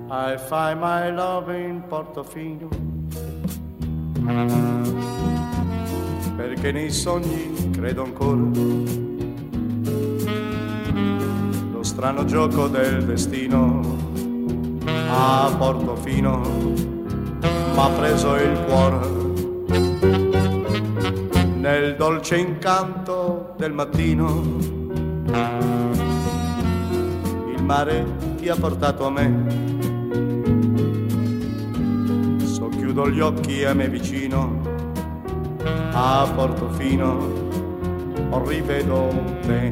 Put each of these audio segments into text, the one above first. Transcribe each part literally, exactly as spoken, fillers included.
I find my love in Portofino, perché nei sogni credo ancora. Lo strano gioco del destino a Portofino m'ha preso il cuore. Nel dolce incanto del mattino il mare ti ha portato a me. Chiudo gli occhi e me vicino a Portofino rivedo te,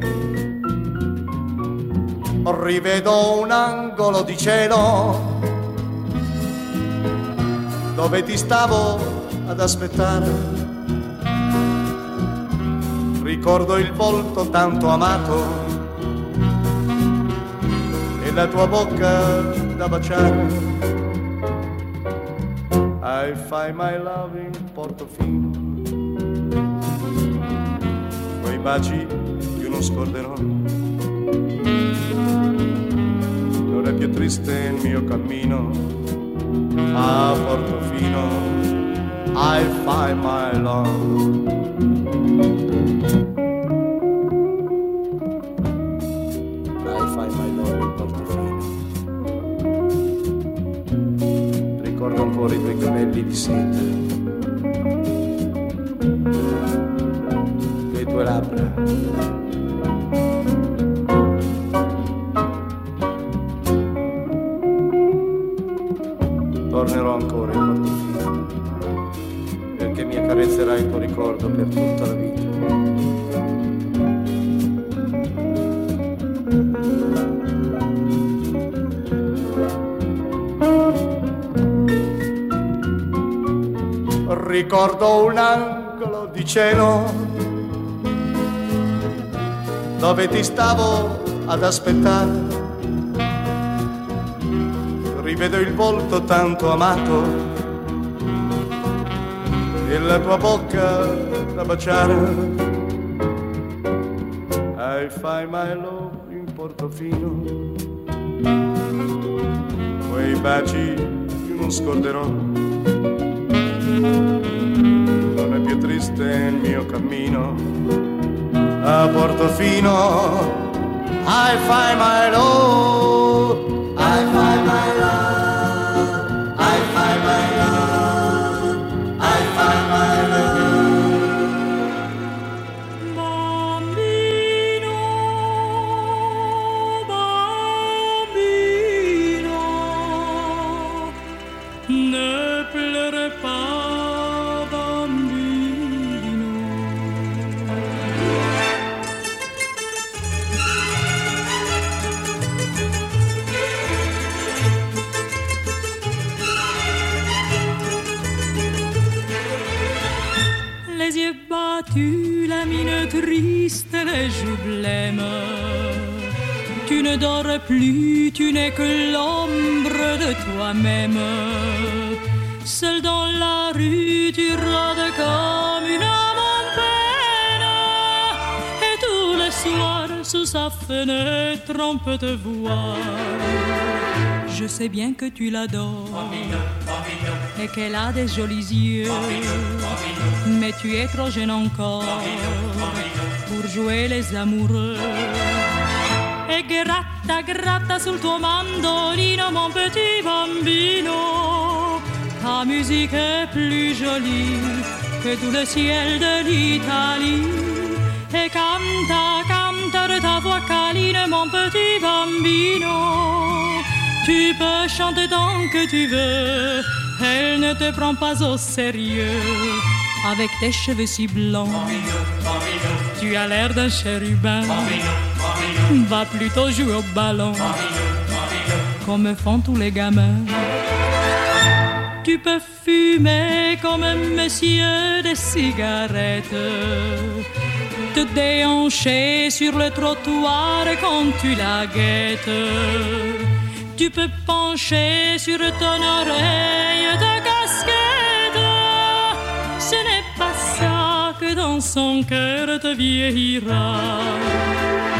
rivedo un angolo di cielo dove ti stavo ad aspettare. Ricordo il volto tanto amato e la tua bocca da baciare. I find my love in Portofino, quei baci io non scorderò. Non è più triste il mio cammino a Portofino. I find my love. I find my love in Portofino. Ricordo ancora i tuoi capelli di seta, le tue labbra. Tornerò ancora in Portofino, perché mi accarezzerai il tuo ricordo per tutta la vita. Ricordo un angolo di cielo dove ti stavo ad aspettare. Rivedo il volto tanto amato e la tua bocca da baciare. I find my love in Portofino, quei baci io non scorderò. Non è più triste il mio cammino a Portofino. I find my love, I find my love, I find my love, I find my love. Bambino, bambino, ne pleure pas. Les yeux battus, la mine triste, les joues blêmes. Tu ne dors plus, tu n'es que l'ombre de toi-même. Seul dans la rue, tu rôdes comme une âme en peine. Et tous les soirs, sous sa fenêtre, on peut te voir. Je sais bien que tu l'adores et qu'elle a des jolis yeux, mais tu es trop jeune encore pour jouer les amoureux. E gratta, gratta sul tuo mandolino, mon petit bambino. Ta musique est plus jolie que tout le ciel de l'Italie. E canta, canta de ta voix câline, mon petit bambino. Tu peux chanter tant que tu veux, elle ne te prend pas au sérieux. Avec tes cheveux si blancs, tu as l'air d'un chérubin. Va plutôt jouer au ballon, comme font tous les gamins. Tu peux fumer comme un monsieur des cigarettes, te déhancher sur le trottoir quand tu la guettes. Tu peux pencher sur ton oreille ta casquette. Ce n'est pas ça que dans son cœur te vieillira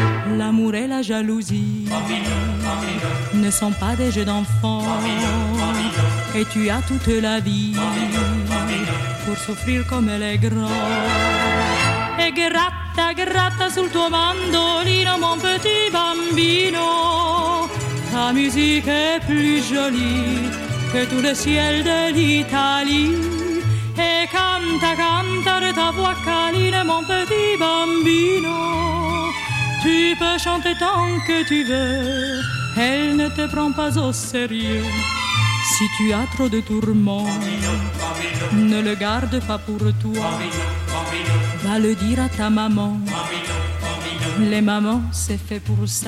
L'amour et la jalousie ne sont pas des jeux d'enfants. Et tu as toute la vie pour souffrir comme elle est grande. E gratta, gratta sul tuo mandolino, mon petit bambino. Ta musique est plus jolie que tout le ciel de l'Italie. Et canta, canta de ta voix câline, mon petit bambino. Tu peux chanter tant que tu veux, elle ne te prend pas au sérieux. Si tu as trop de tourments, ne le garde pas pour toi. Va le dire à ta maman. Les mamans, c'est fait pour ça.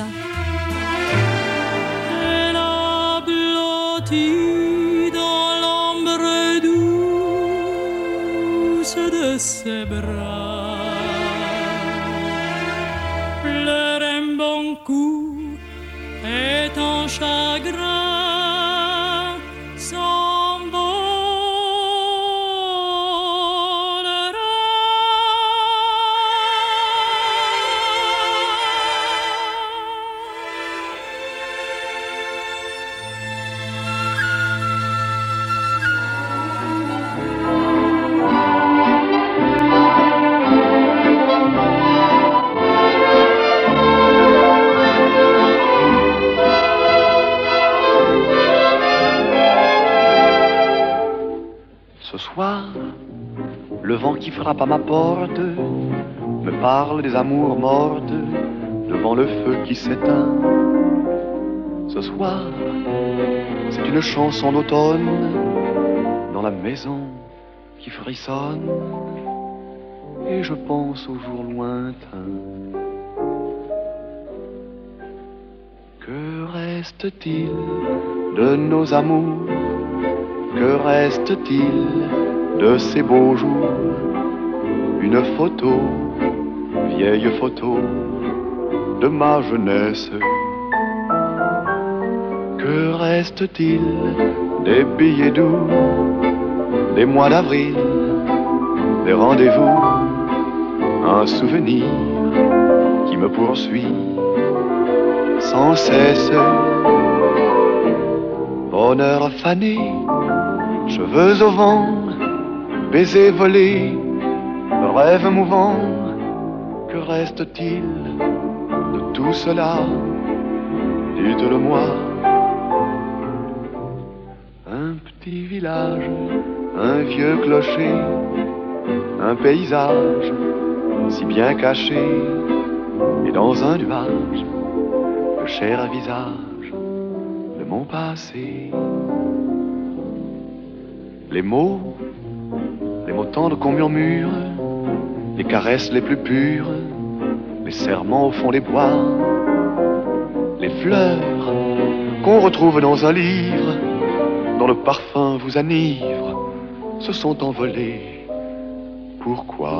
Elle a blotti dans l'ombre douce de ses bras. Pleure un bon coup et ton chagrin s'envolera. Ce soir, le vent qui frappe à ma porte me parle des amours mortes devant le feu qui s'éteint. Ce soir, c'est une chanson d'automne dans la maison qui frissonne. Et je pense aux jours lointains. Que reste-t-il de nos amours? Que reste-t-il de ces beaux jours? Une photo, vieille photo de ma jeunesse. Que reste-t-il des billets doux, des mois d'avril, des rendez-vous? Un souvenir qui me poursuit sans cesse. Bonheur fané, cheveux au vent, baisers volés, rêves mouvants. Que reste-t-il de tout cela? Dites-le-moi. Un petit village, un vieux clocher, un paysage si bien caché, et dans un nuage, le cher visage de mon passé. Les mots, les mots tendres qu'on murmure, les caresses les plus pures, les serments au fond des bois, les fleurs qu'on retrouve dans un livre, dont le parfum vous enivre, se sont envolés. Pourquoi?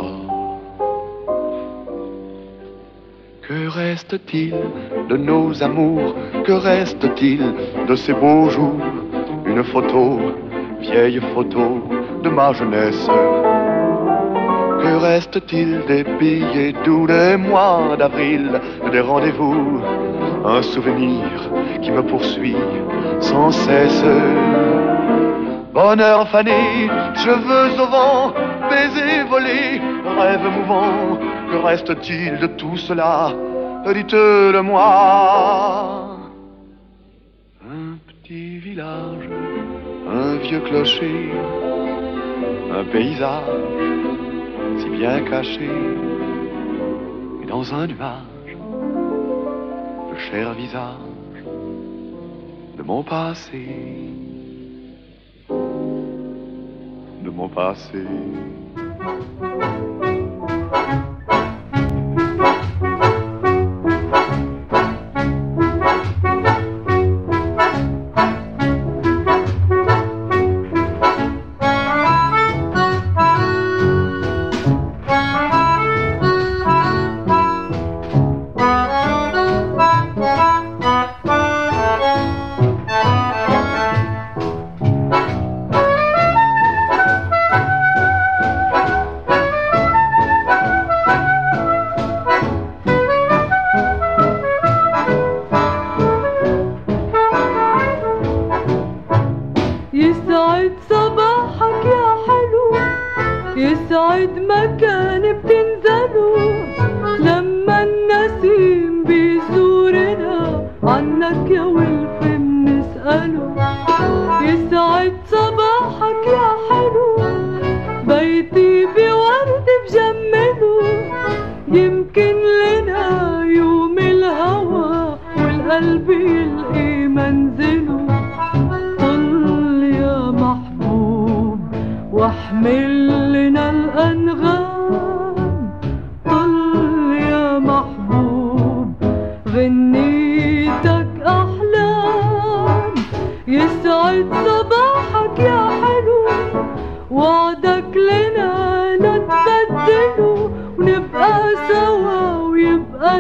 Que reste-t-il de nos amours? Que reste-t-il de ces beaux jours? Une photo, vieille photo de ma jeunesse. Que reste-t-il des billets doux, des mois d'avril, des rendez-vous? Un souvenir qui me poursuit sans cesse. Bonheur fané, cheveux au vent, baisers volés, rêves mouvants. Que reste-t-il de tout cela? Dites-le-moi. Un petit village, un vieux clocher, un paysage si bien caché, et dans un nuage, le cher visage de mon passé, de mon passé.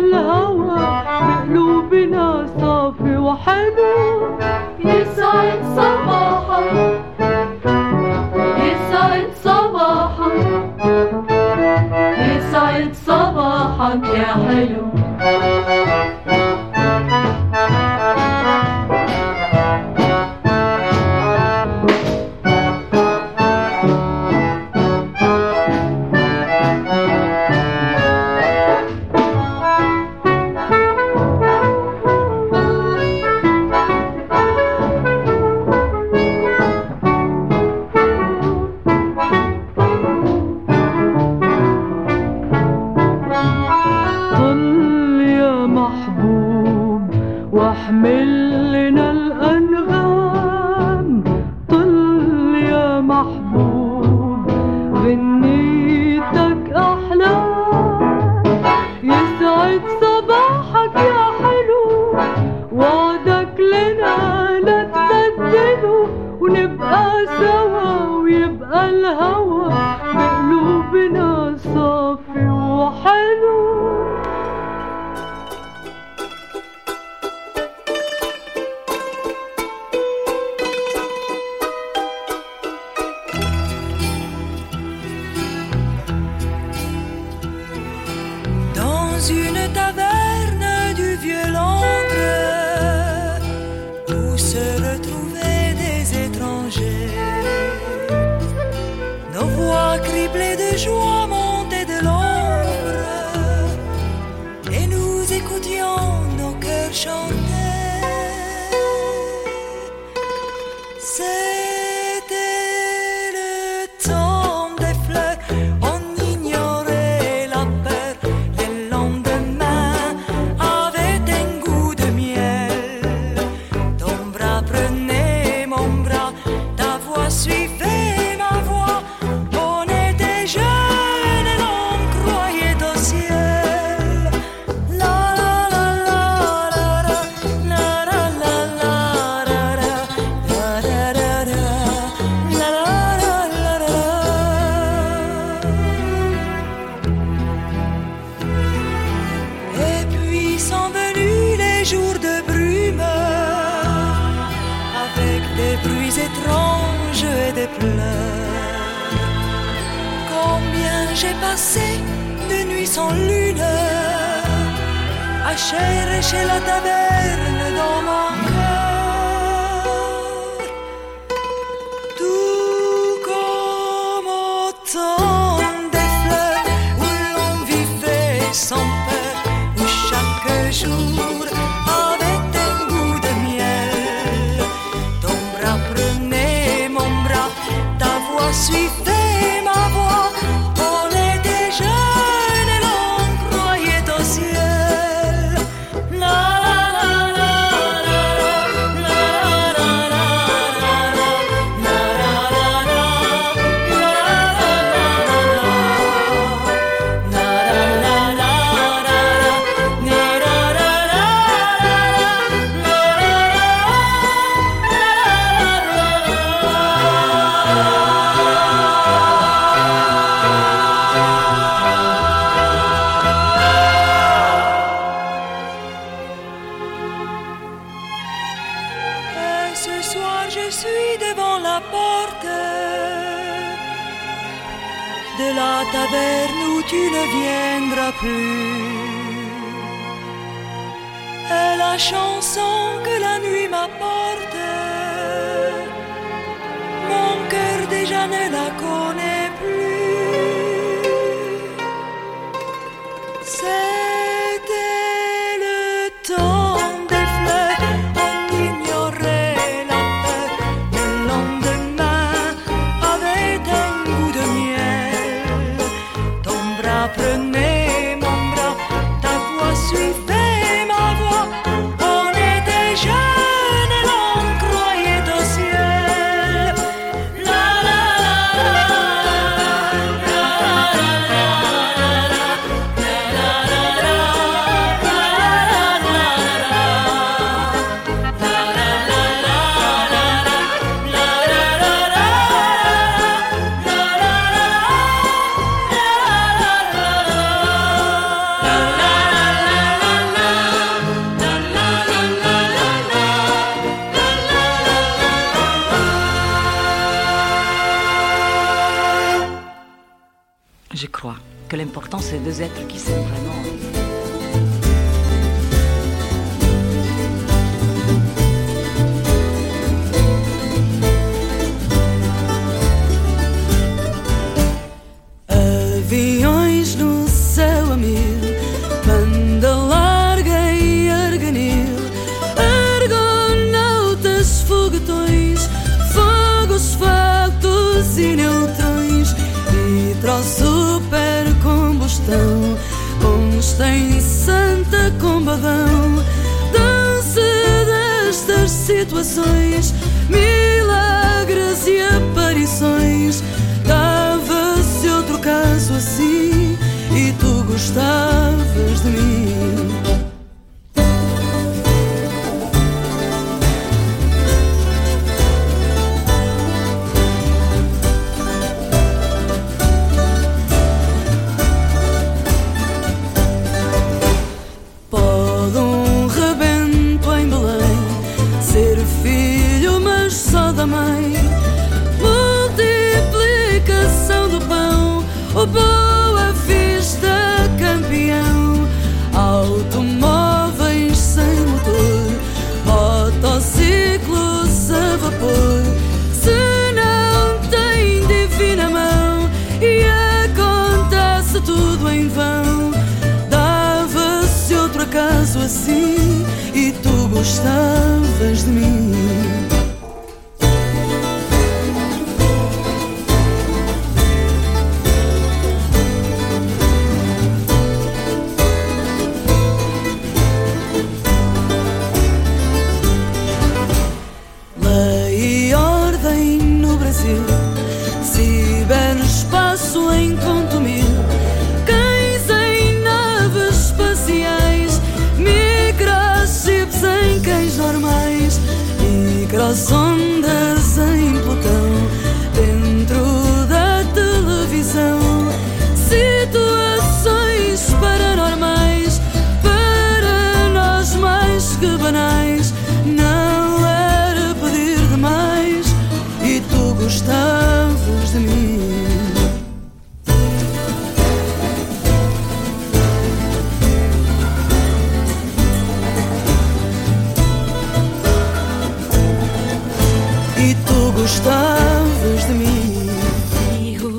الهوى بقلوبنا صافي وحلو. يسعد صباحك يسعد صباحك يسعد صباحك يا حلو. La la la la que l'important c'est deux êtres qui s'aiment vraiment. Aviões no céu a mil, banda larga e arganil, argonautas, foguetões, fogos, factos e neutrões, nitro, super combustão, Einstein, Santa Combadão, dança destas situações, milagres e aparições. Dava-se outro caso assim e tu gostavas de mim. Pode um rebento em Belém ser filho, mas só da mãe. Multiplicação do pão, o Boa Vista campeão. Automóveis sem motor, motociclos a vapor. Se não tem divina mão e acontece tudo em vão, dava-se outro acaso assim e tu gostavas de mim. Lei e ordem no Brasil, ciberespaço em conto mil, cães em naves espaciais, microchips em cães normais, microsondas em Plutão, dentro da televisão, situações paranormais, para nós mais que banais. Não era pedir demais e tu gostavas de mim. E tu gostavas de mim. Hijo,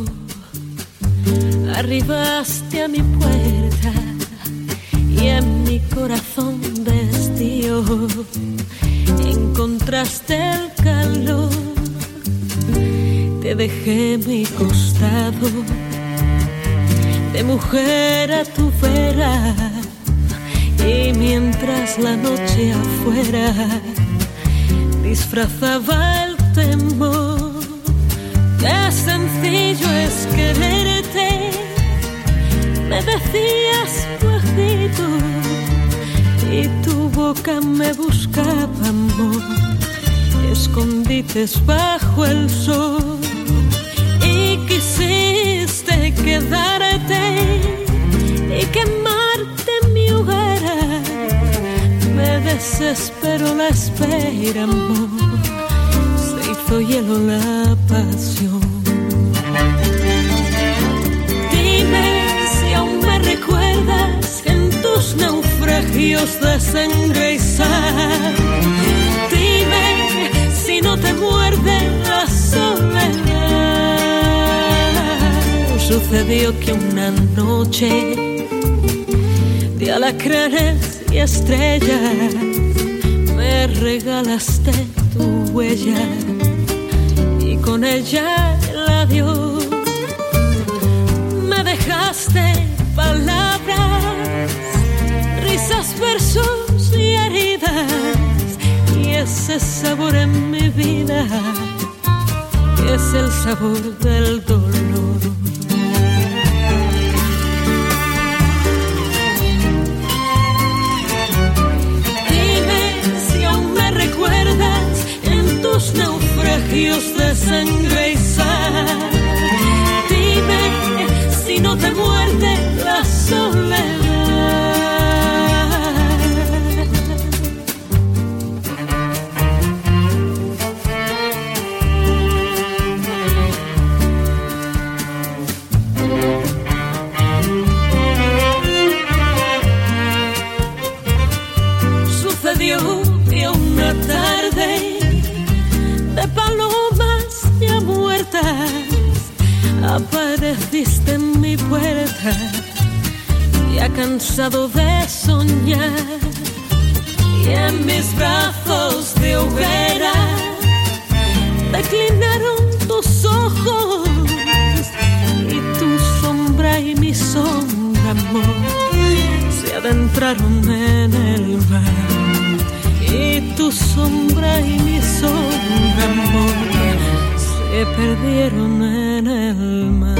arribaste a mi puerta y en mi corazón destío encontraste el calor. Te dejé mi costado de mujer a tu vera, y mientras la noche afuera disfrazaba el temor, qué sencillo es quererte, me decías bajito, y tu boca me buscaba amor, escondites bajo el sol, y quisiste quedarte y quemarte en mi hoguera. Me desesperó la espera, amor, se hizo hielo la pasión. Dime si aún me recuerdas en tus naufragios de sangre y sal. Dime si no te muerde la soledad. Sucedió que una noche de alacranes y estrellas me regalaste tu huella y con ella el adiós. Me dejaste palabras, risas, versos y heridas, y ese sabor en mi vida es el sabor del dolor. Tus naufragios de sangre y sal. Dime si no te muerde la soledad. otra tarde de palomas ya muertas, apareciste en mi puerta, ya cansado de soñar, y en mis brazos de hoguera declinaron tus ojos, y tu sombra y mi sombra, amor, se adentraron en el mar, y tu sombra y mi sombra, amor, se perdieron en el mar.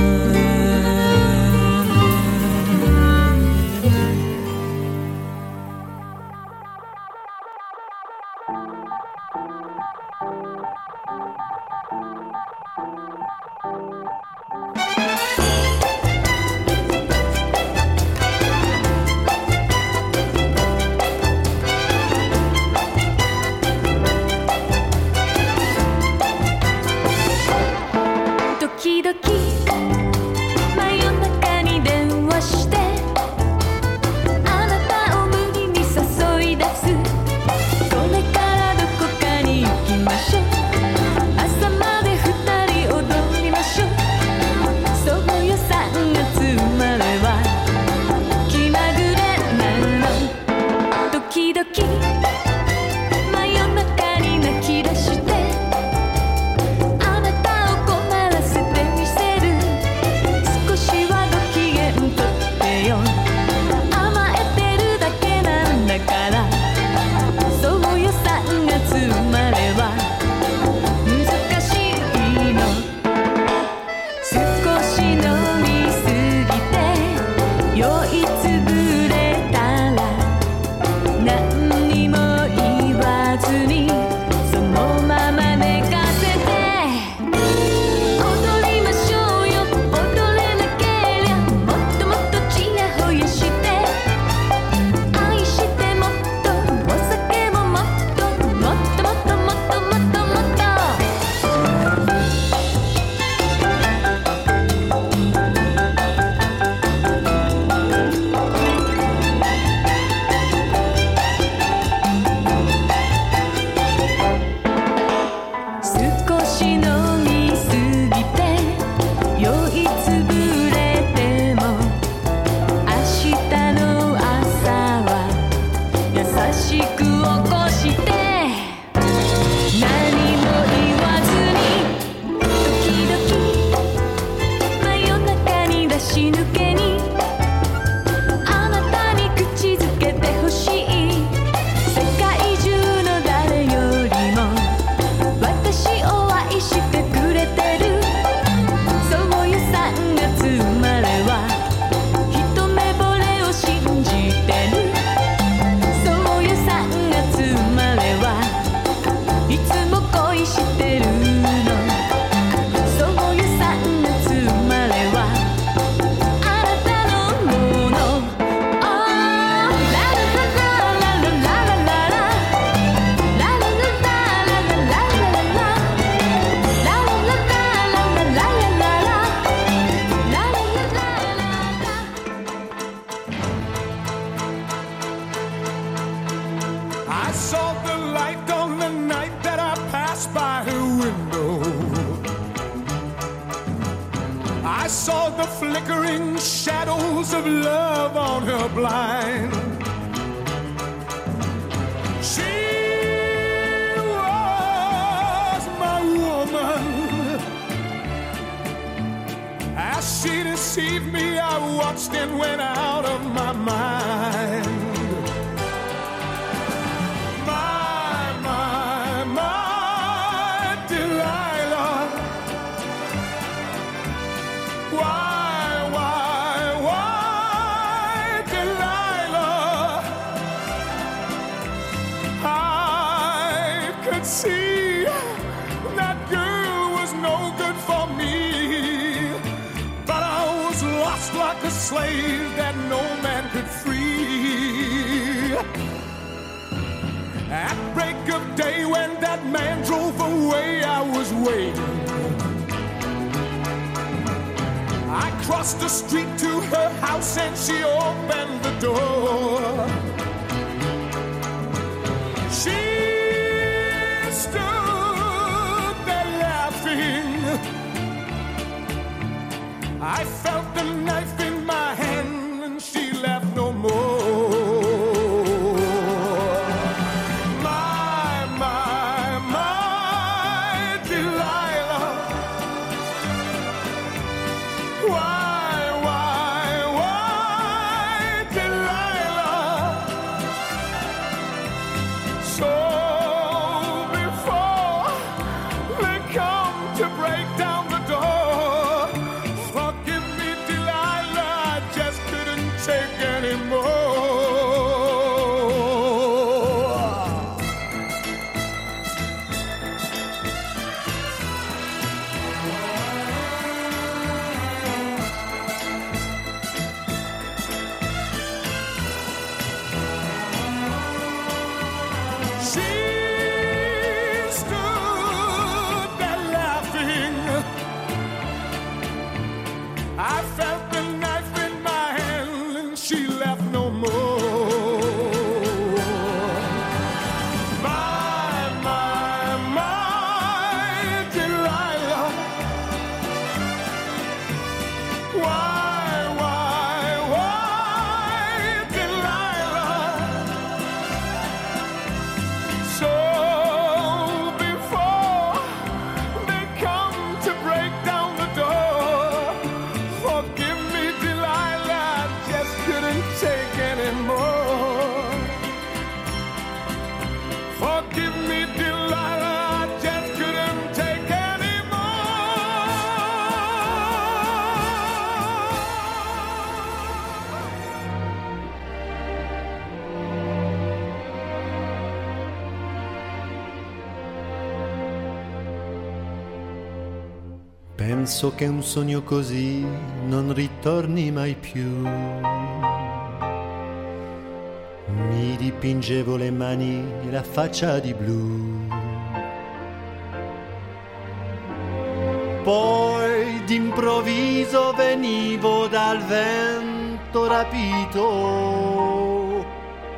Crossed the street to her house and she opened the door. She She stood there laughing. I felt the knife in my hand and she laughed no more. My, my, my Delilah. Why, why, why Delilah? So before they come to break down the door, forgive me, Delilah, I just couldn't take anymore. Forgive me, Delilah, I just couldn't take Penso che un sogno così non ritorni mai più. Mi dipingevo le mani e la faccia di blu. Poi d'improvviso venivo dal vento rapito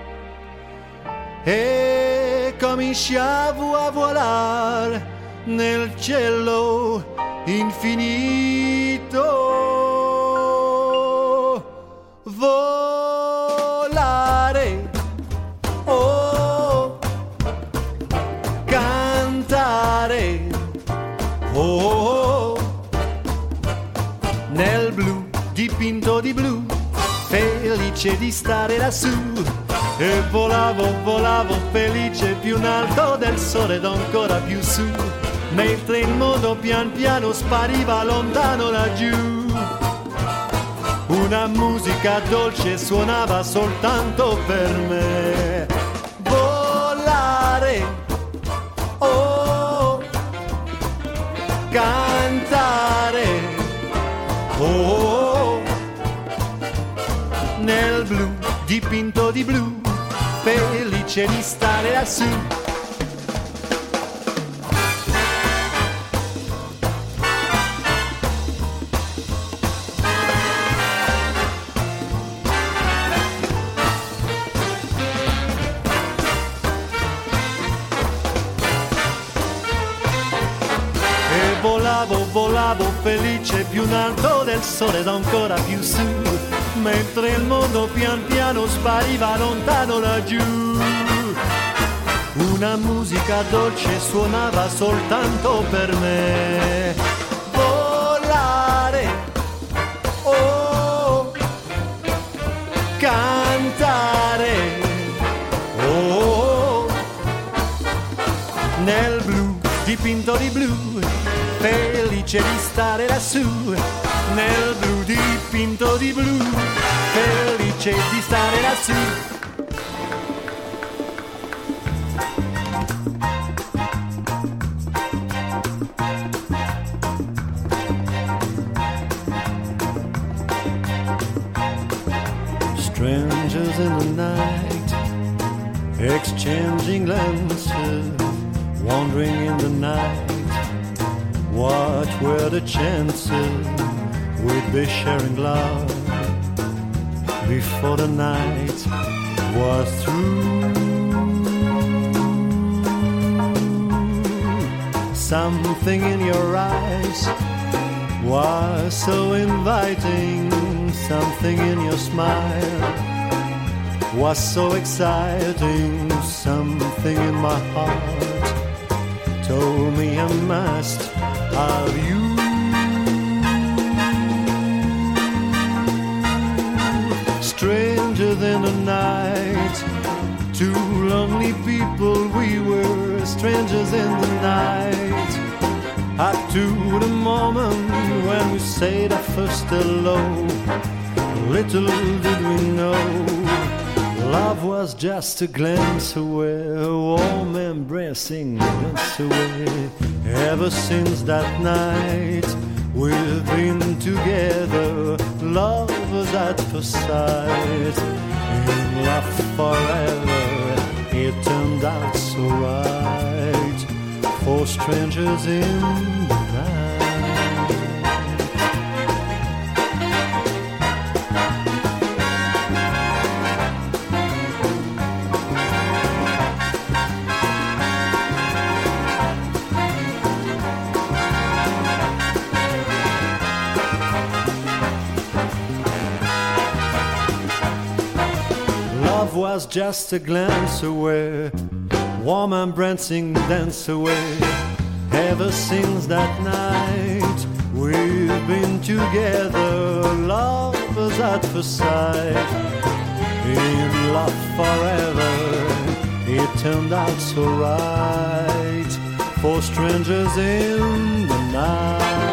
e cominciavo a volare nel cielo infinito. Volare, oh, cantare, oh, nel blu dipinto di blu, felice di stare lassù. E volavo, volavo felice più in alto del sole ed ancora più su, mentre il mondo pian piano spariva lontano laggiù. Una musica dolce suonava soltanto per me. Volare, oh, cantare, oh, nel blu dipinto di blu, felice di stare lassù. Volavo, volavo felice più in alto del sole ed ancora più su, mentre il mondo pian piano spariva lontano laggiù. Una musica dolce suonava soltanto per me. Volare, oh, cantare, oh, nel blu dipinto di blu, felice di stare lassù, nel blu dipinto di blu, felice di stare lassù. Strangers in the night, exchanging glances, wandering in the night. What were the chances we'd be sharing love before the night was through? Something in your eyes was so inviting, something in your smile was so exciting, something in my heart told me I must have you. Stranger than the night, two lonely people we were, strangers in the night. Up to the moment when we said our first hello, little did we know love was just a glance away, a warm embracing glance away. Ever since that night we've been together, lovers at first sight, in love forever, eternal. turned out so right for strangers in the night. Love was just a glance away, warm embracing dance away. Ever since that night we've been together, lovers at first sight, in love forever. It turned out so right for strangers in the night.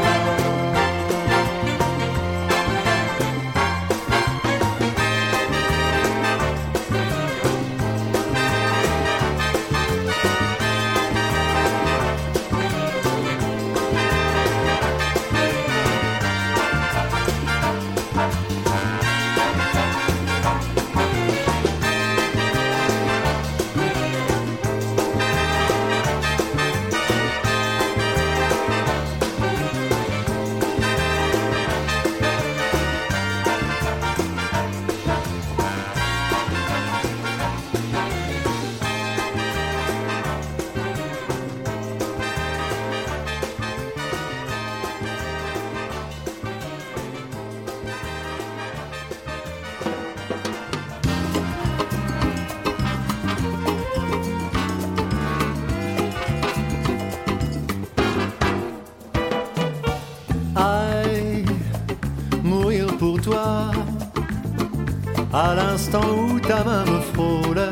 À l'instant où ta main me frôle,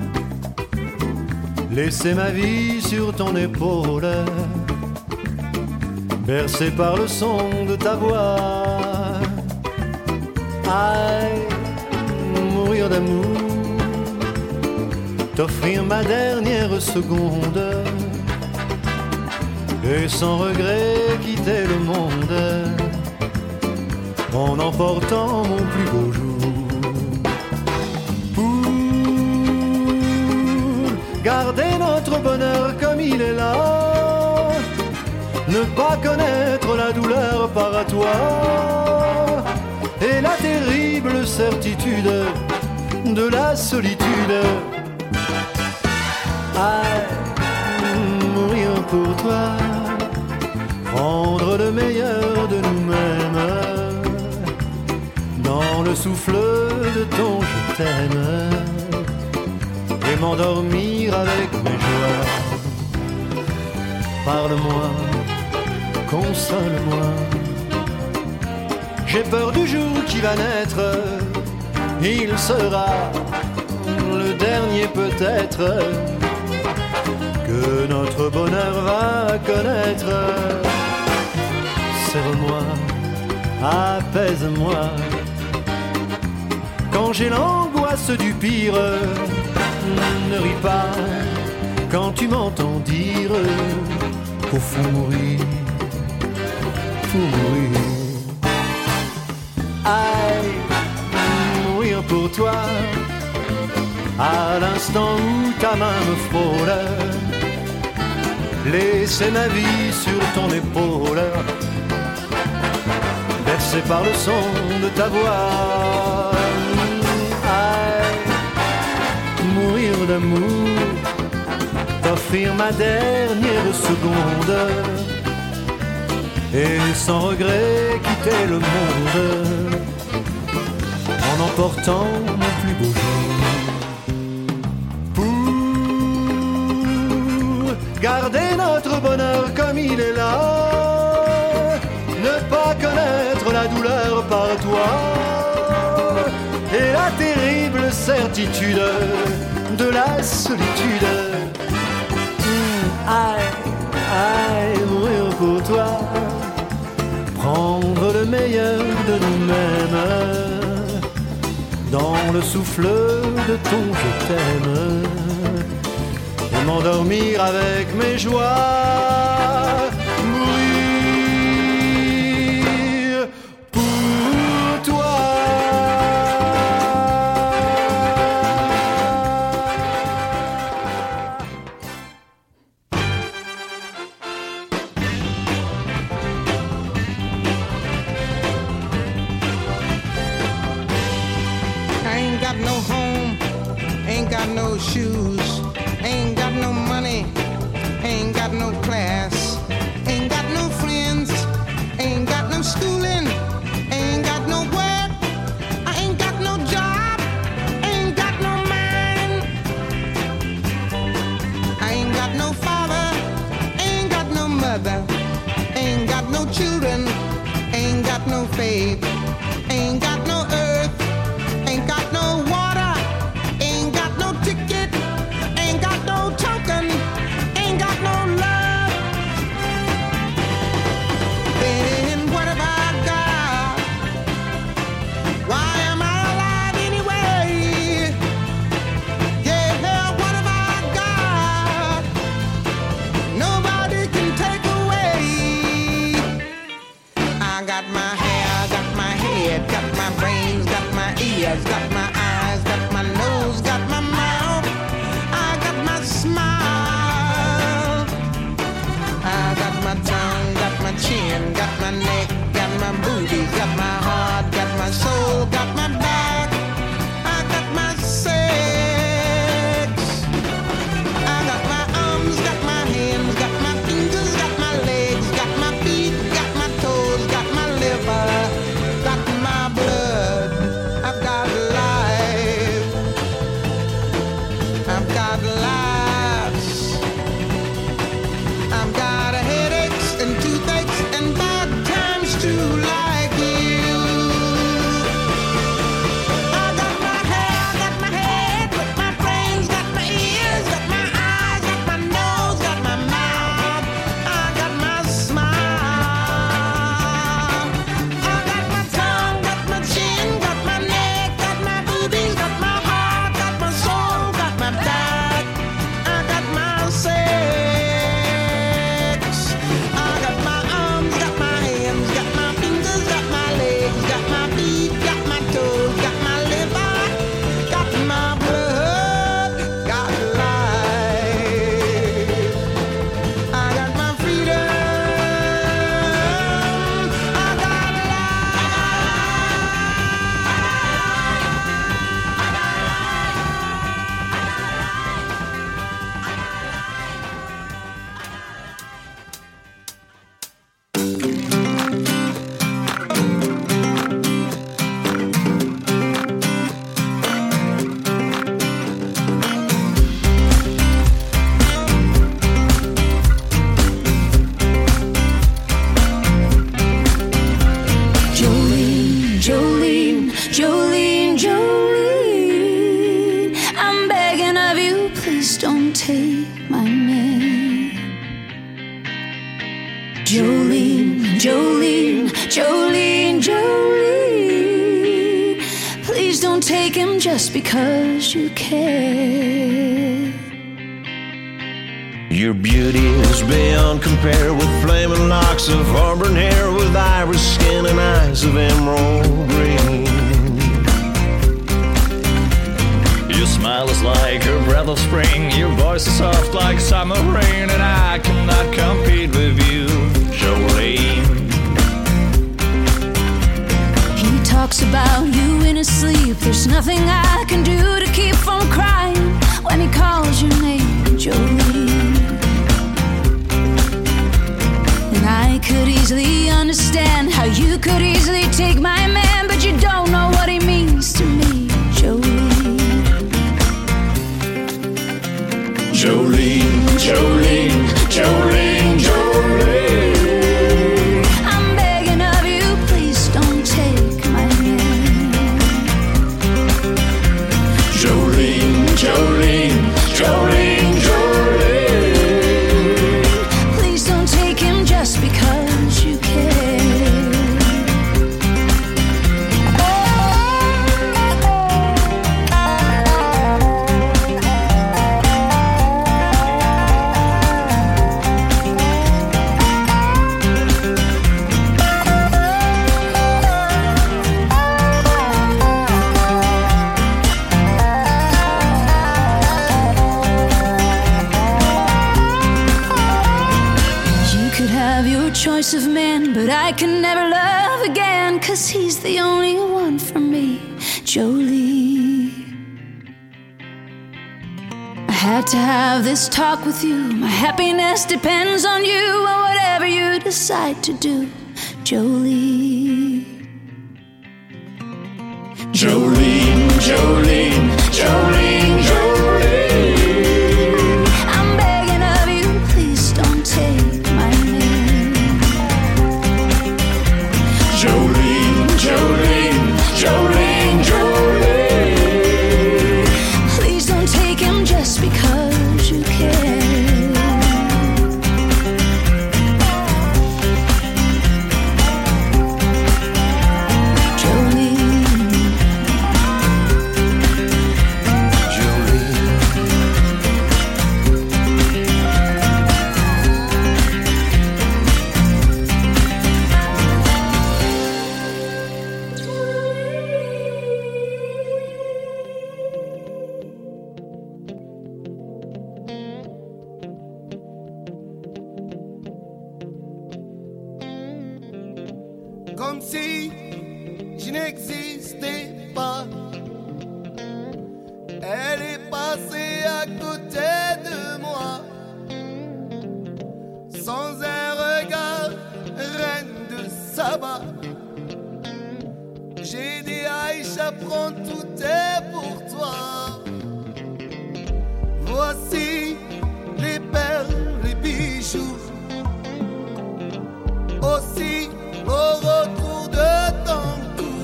laisser ma vie sur ton épaule, bercé par le son de ta voix. Aïe, mourir d'amour, t'offrir ma dernière seconde, et sans regret quitter le monde, en emportant mon plus beau jour. Garder notre bonheur comme il est là, ne pas connaître la douleur par à toi, et la terrible certitude de la solitude. Ah, mourir pour toi, prendre le meilleur de nous-mêmes, dans le souffle de ton je t'aime, et m'endormir avec mes joies. Parle-moi, console-moi, j'ai peur du jour qui va naître, il sera le dernier peut-être que notre bonheur va connaître. Serre-moi, apaise-moi, quand j'ai l'angoisse du pire. Ne ris pas quand tu m'entends dire qu'au fond mourir, faut mourir. Aïe, mourir pour toi, à l'instant où ta main me frôle, laisser ma vie sur ton épaule, bercé par le son de ta voix. Mourir d'amour, t'offrir ma dernière seconde, et sans regret quitter le monde, en emportant mon plus beau jour. Pour garder notre bonheur comme il est là, ne pas connaître la douleur par toi, et la terrible certitude de la solitude. Mmh, aïe, aïe, mourir pour toi, prendre le meilleur de nous-mêmes, dans le souffle de ton je t'aime, et m'endormir avec mes joies. Mourir pour toi. no shoes, ain't got no money, ain't got no class, ain't got no friends, ain't got no schooling, ain't got no work, I ain't got no job, ain't got no mind. I ain't got no father, ain't got no mother, ain't got no children, ain't got no faith, ain't got no earth, ain't got no water, ain't got no ticket, ain't got no token, ain't got no love. Then what have I got? Why am I alive anyway? Yeah, what have I got? Nobody can take away. I got my hair, got my head, got my brains, got my ears, got my eyes, got my nose, got my mouth, I got my smile, I got my tongue, got my chin, got my neck, got my booty, got my heart, got my soul, got my back, I got my sex, I got my arms, got my hands, got my fingers, got my legs, got my feet, got my toes, got my liver, got my blood, I've got life, I've got laughs, I've got headaches and toothaches and bad times too, like you. I got my hair, got my head, got my brains, got my ears, got my eyes, got my nose, got my mouth, I got my smile, I got my tongue, got my chin, got my neck, got my boobies, got my heart, got my soul, got my back, I got my sex, I got my arms, got my hands, got my fingers, got my legs, got my feet, got my toes, got my liver, got my blood, got life, I got my freedom, I got Jolene, Jolene, Jolene, Jolene, I'm begging of you, please don't take my man. Jolene, Jolene, Jolene, Jolene, please don't take him just because you care. Your beauty is beyond compare, with flaming locks of auburn hair, with iris skin and eyes of emerald green. Your smile is like a breath of spring, your voice is soft like summer rain, and I cannot compete with you, Jolene. He talks about you in his sleep. There's nothing I can do to keep from crying when he calls your name, Jolene. And I could easily understand how you could easily take my man, but you don't know what he means to me, Jolene. Jolene, Jolene, Jolene, Jolene, I'm begging of you, please don't take my man. Jolene, Jolene, Jolene, Jolene, Please don't take him just because you care. Choice of men, but I can never love again, 'cause he's the only one for me, Jolie. had to have this talk with you. My happiness depends on you and whatever you decide to do, Jolene. Jolene, Jolene, Jolene, Jolene. I'm begging of you, please don't take my name. Jolene, Jolene, Jolene, Jolene. Please don't take him just because you can. Comme si je n'existais pas. Elle est passée à côté de moi. Sans un regard, reine de Saba. J'ai dit Aïcha, prends tout est pour toi. Voici les perles, les bijoux. Aussi au retour de ton cou,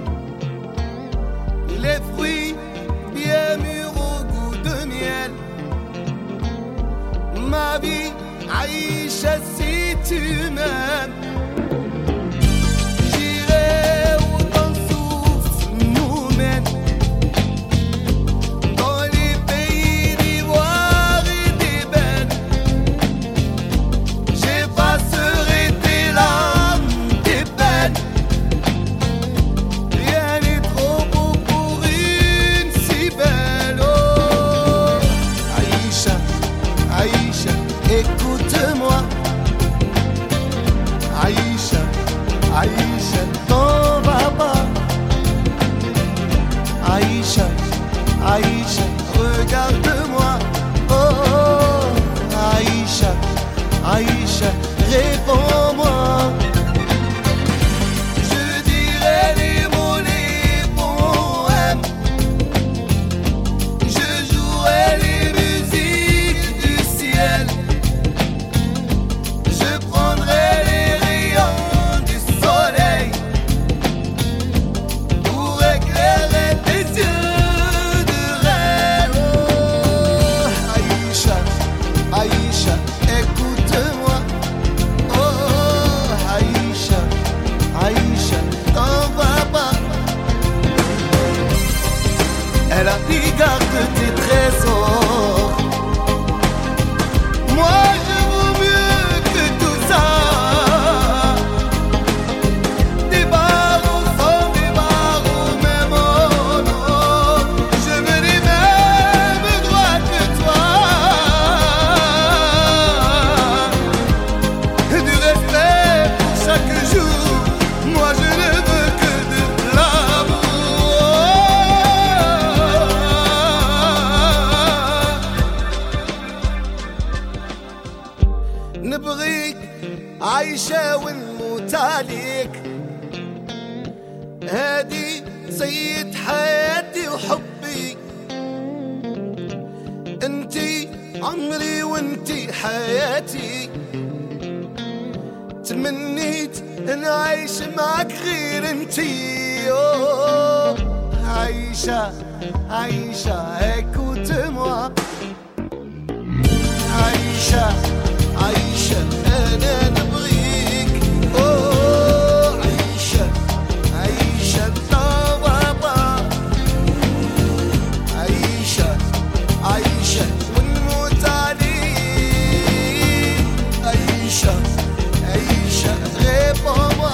les fruits bien mûrs au goût de miel. Ma vie, Aïcha, si tu m'aimes, j'irai où ton souffle nous mène. Dans les pays d'ivoire et d'ébène, j'effacerai tes larmes. Rien n'est trop beau pour une si belle. Oh, Aïcha, Aïcha, écoute-moi. Aïcha, Aïcha, t'en vas pas. Aïcha, Aïcha, regarde-moi. Oh, Aïcha, Aïcha, réponds-moi. Elle a pris garde de tes trésors. Moi je vaux mieux que tout ça. Des barreaux sans des barreaux, même oh non. Je veux les mêmes droits que toi. Du respect pour chaque jour. Moi je ne veux que de l'amour. نبغيك عايشة ونموت عليك. هادي سيد حياتي وحبي. انتي عمري وانتي حياتي. تمنيت نعيش معك غير انتي. أوه عايشة عايشة écoute-moi. عايشة عايشة أنا نبغيك. أوه عايشة عايشة طبابا. عايشة عايشة ونموت عليك. عايشة عايشة réponds-moi.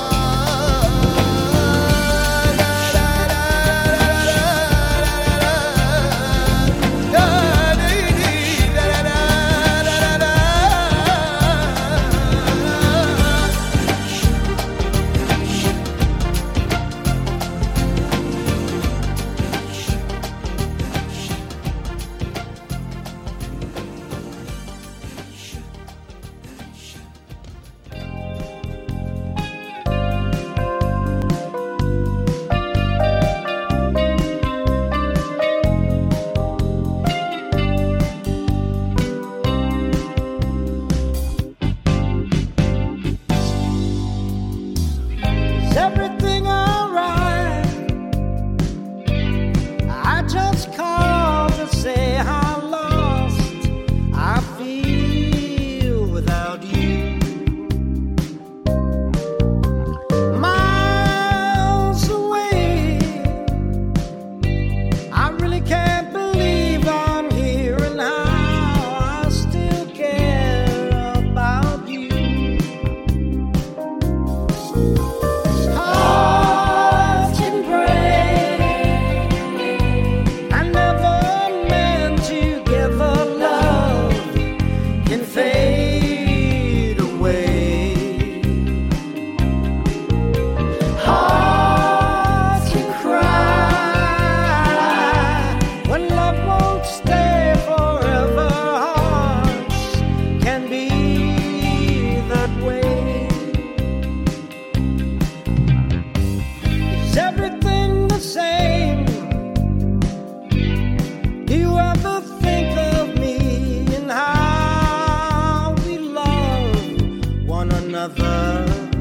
another.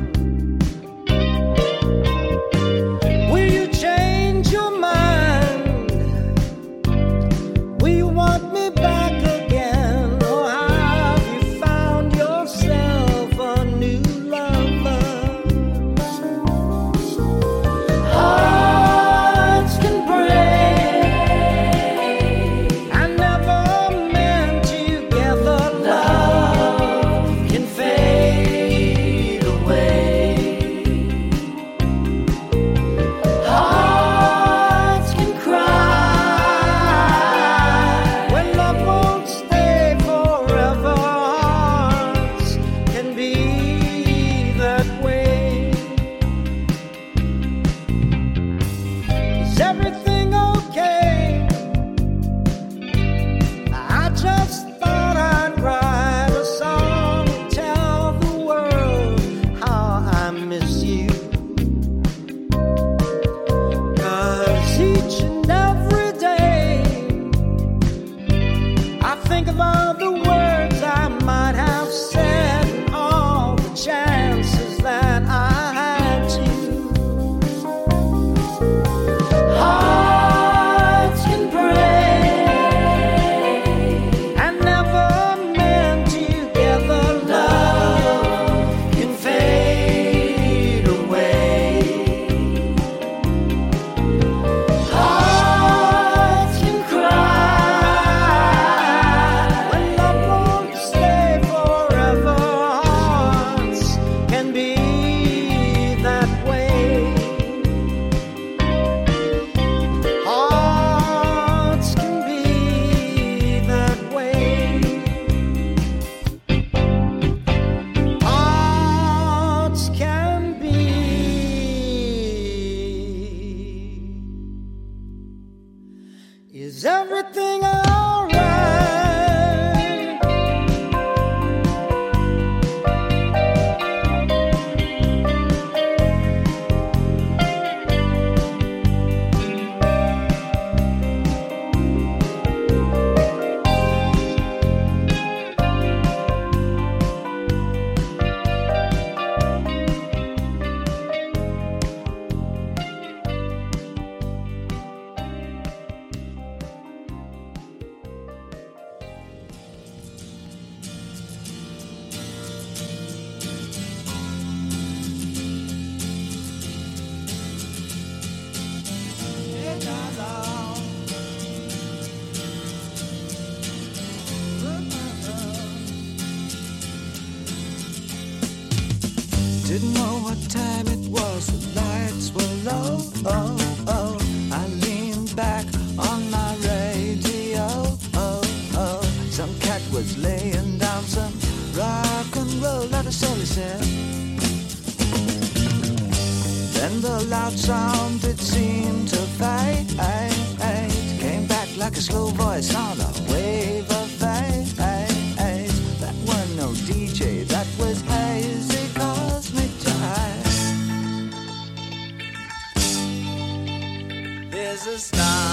Will you change your mind? Will you want me back again? Or have you found yourself a new lover? Hearts can break and never mend together. Love can fade away. Hearts can cry when love won't stay forever. Hearts can be that way. Is everything okay? I just thought I'd write a song and tell the world how I miss you. 'Cause each and every day I think of all the words I might have said and all the chances that I had to. Hearts can break and never mend together. Love can fade away. Hearts can cry when love won't stay forever. Hearts can be that way. Hearts can be that way. Hearts can be. Is everything all right? Didn't know what time it was, the lights were low. Oh, oh. I leaned back on my radio. Oh, oh. Some cat was laying down some rock and roll, that is all he said. Then the loud sound, it seemed to fade. Came back like a slow voice on a wave of fade. That was no D J, that was hazy cosmic jive. There's a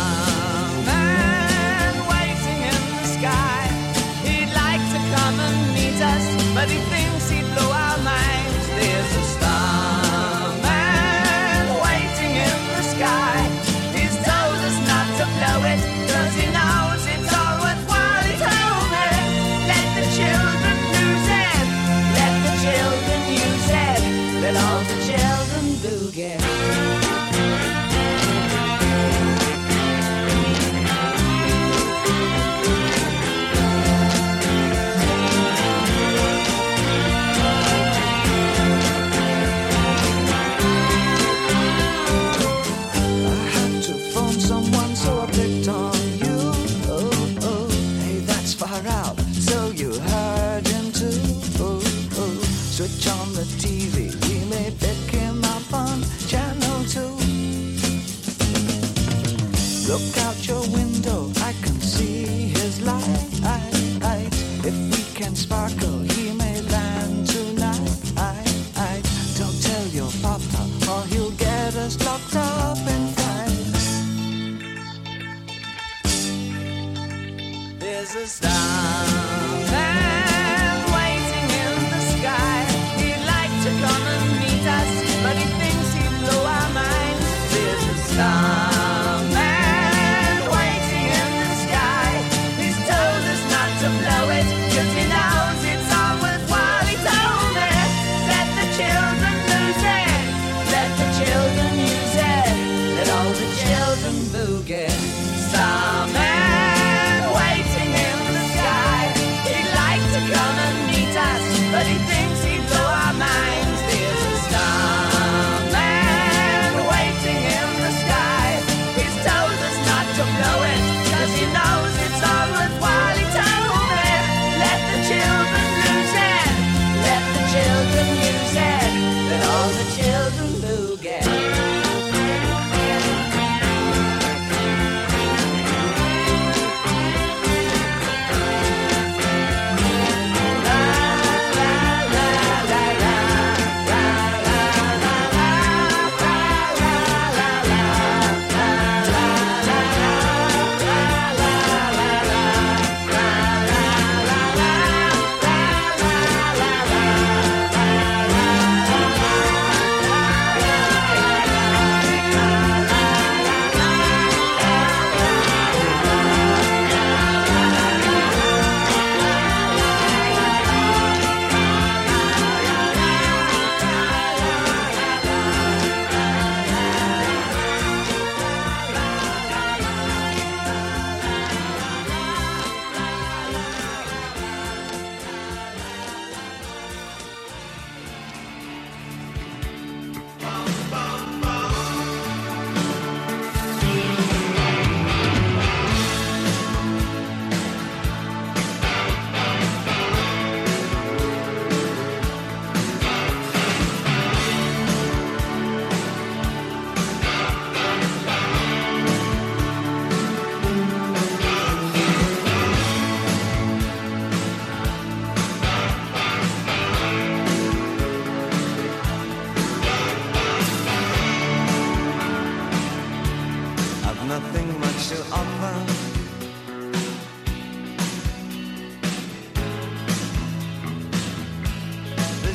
starman waiting in the sky. He'd like to come and meet us, but he thinks he'd blow our minds. There's a starman waiting in the sky. He's told us not to blow it, 'cause he knows it's all worthwhile. He told me, let the children lose it, let the children use it, let all the children boogie. I had to phone someone, so I picked on you. Oh, oh. Hey, that's far out, so you heard him too. Oh, oh. Switch on the T V, we may pick him up on channel two. Look out your window, I can see his light. If we can sparkle, he may land tonight. Don't tell your papa, or he'll get us locked up in fights. There's a starman waiting in the sky. He'd like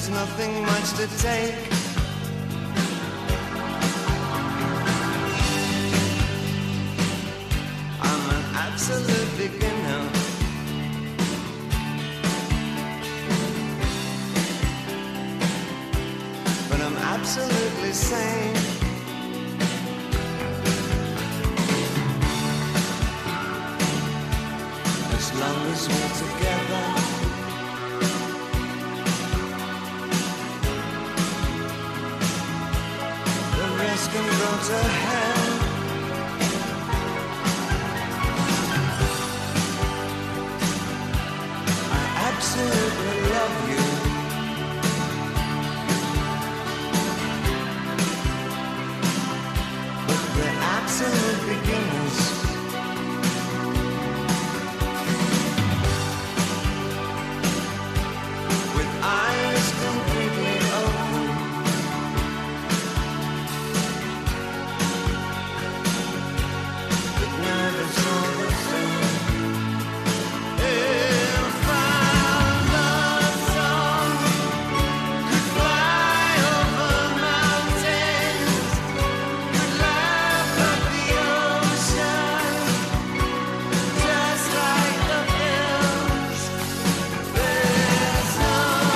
there's nothing much to take. I'm an absolute beginner. But I'm absolutely sane. As long as we're together, the rest can go to hell. I absolutely love you. But we're absolute beginners. Eyes completely open, but nervous all the same. If our love song could fly over mountains, could laugh at the ocean, just like the hills, there's no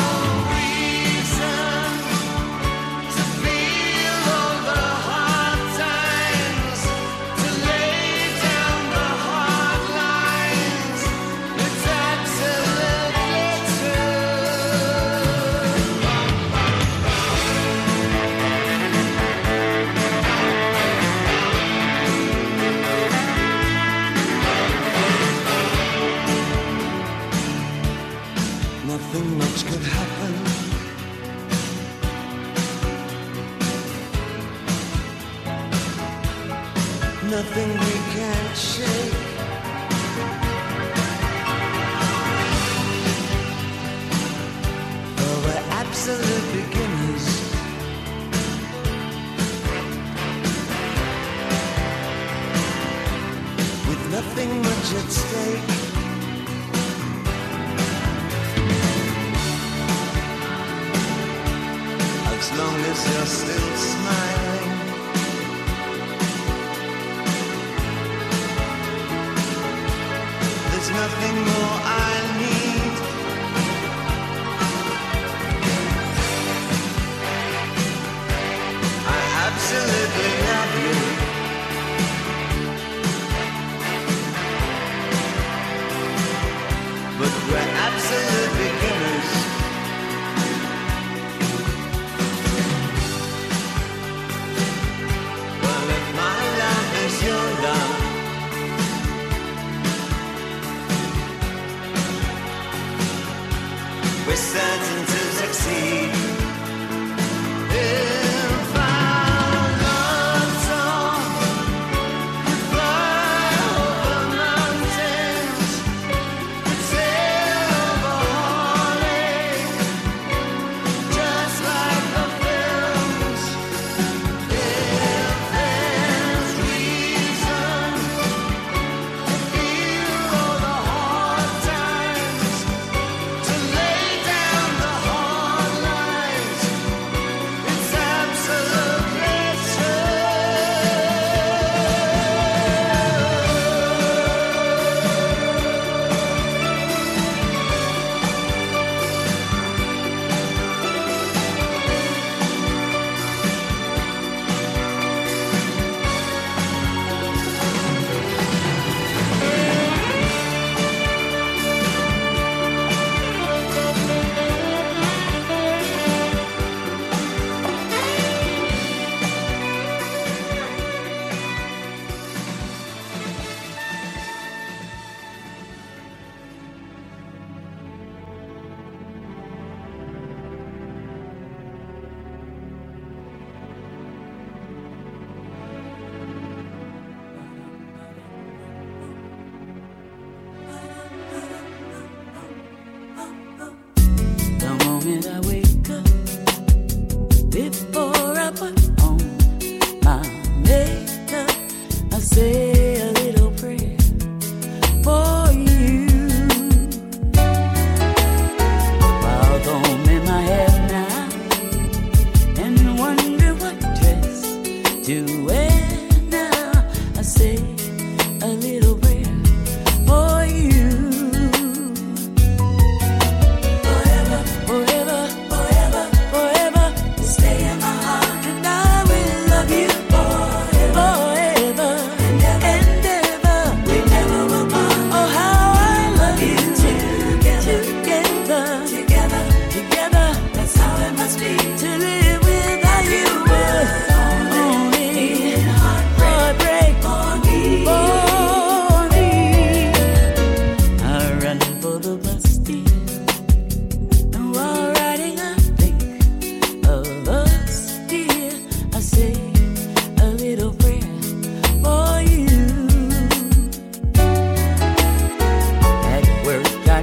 nothing much could happen. Nothing we can't shake. For we're absolute beginners. With nothing much at stake. As long as you're still smiling, there's nothing more I need. I absolutely love you. But we're absolute beginners. Your love, we're certain to succeed. If our love song could fly over mountains, could sail over heartache, just like the films. If there's reason to feel all the hard times, to lay down the hard lines, it's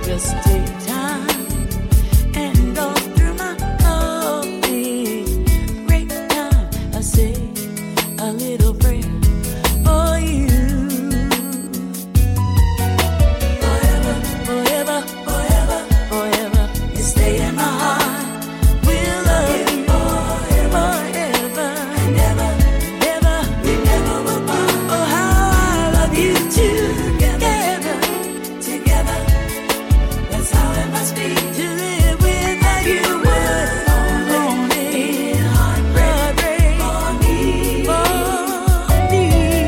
Just take time and go through my coffee. Break time, I say a little prayer for you. Forever, forever, forever, forever, you stay in my heart. We'll love you forever, forever, and ever, never, we never will part. Oh, how I love you together, together. That's how it must be to live without you. Would only heartbreak for me, for me.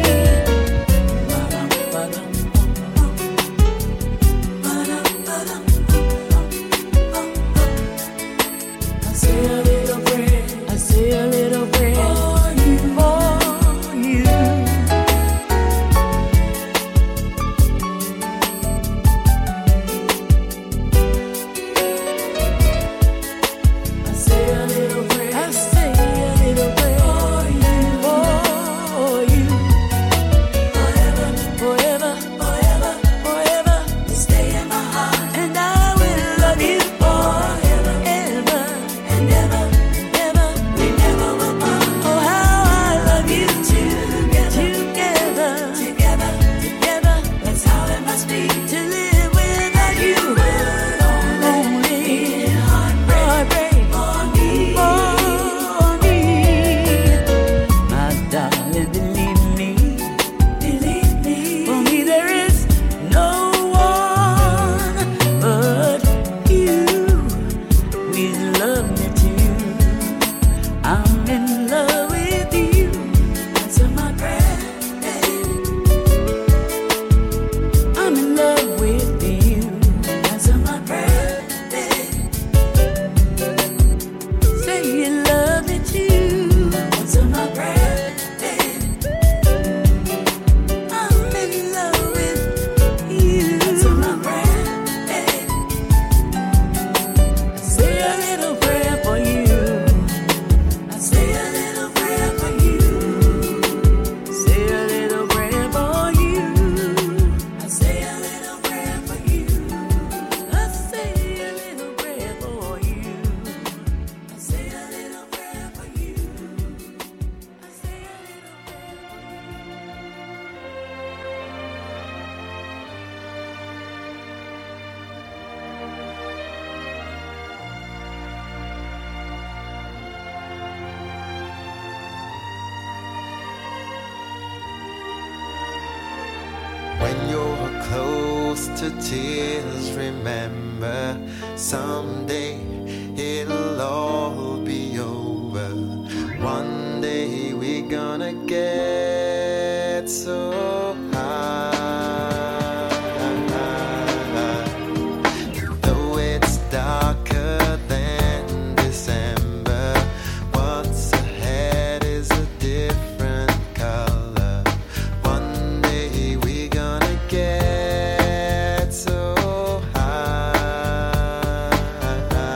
I say a little prayer, I say a little prayer for you, for you. I say a little prayer, I say a little prayer for you, for you. Forever, forever, forever, forever, you stay in my heart, and I will love you forever, ever, and ever, ever, we never will part. Oh, how I love you together, together, together, together. That's how it must be to live without you. Only heartbreak for me, for me. My darling, believe me, believe me. For me there is no one but you. With love me too. I'm in love with you. Answer my prayer. I'm in love with you. Answer my prayer. Say you love me too. Answer my prayer. I'm in love with you. Answer my prayer. Say a little prayer for you. I say a little prayer for you. Say a little prayer for you. I say a little prayer for you. I say a little prayer for you. I say a little prayer for you. I say a little prayer for When you're close to tears, remember someday it'll all be over. One day we're gonna get so high. Though it's darker than December, what's ahead is a different color. One day we're gonna get so high.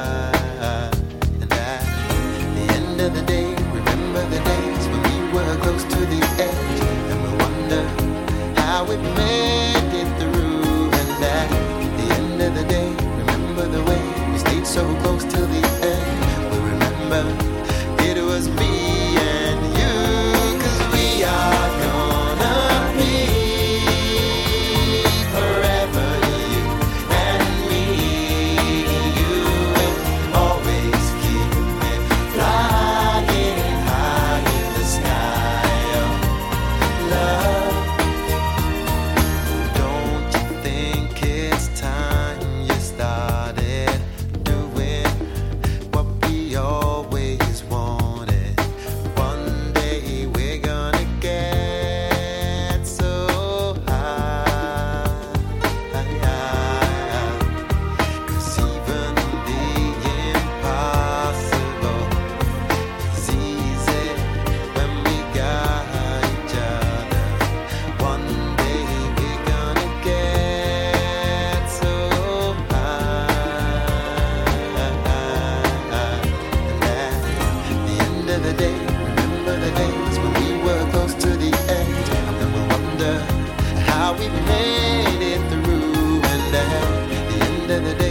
da da da